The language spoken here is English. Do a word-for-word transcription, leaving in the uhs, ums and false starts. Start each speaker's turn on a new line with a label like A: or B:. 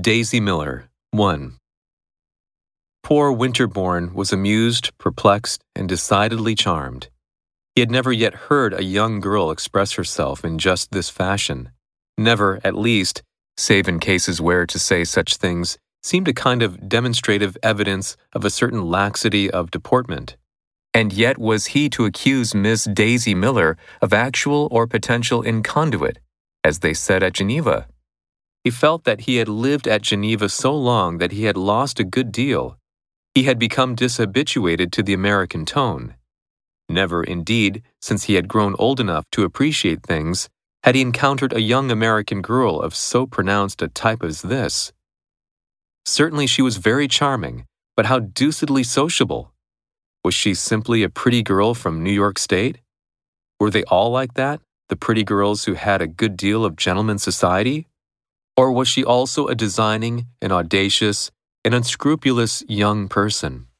A: Daisy Miller, one. Poor Winterbourne was amused, perplexed, and decidedly charmed. He had never yet heard a young girl express herself in just this fashion. Never, at least, save in cases where to say such things seemed a kind of demonstrative evidence of a certain laxity of deportment. And yet was he to accuse Miss Daisy Miller of actual or potential inconduit, as they said at Geneva? He felt that he had lived at Geneva so long that he had lost a good deal. He had become dishabituated to the American tone. Never, indeed, since he had grown old enough to appreciate things, had he encountered a young American girl of so pronounced a type as this. Certainly she was very charming, but how deucedly sociable! Was she simply a pretty girl from New York State? Were they all like that, the pretty girls who had a good deal of gentleman's society? Or was she also a designing, an audacious, an unscrupulous young person?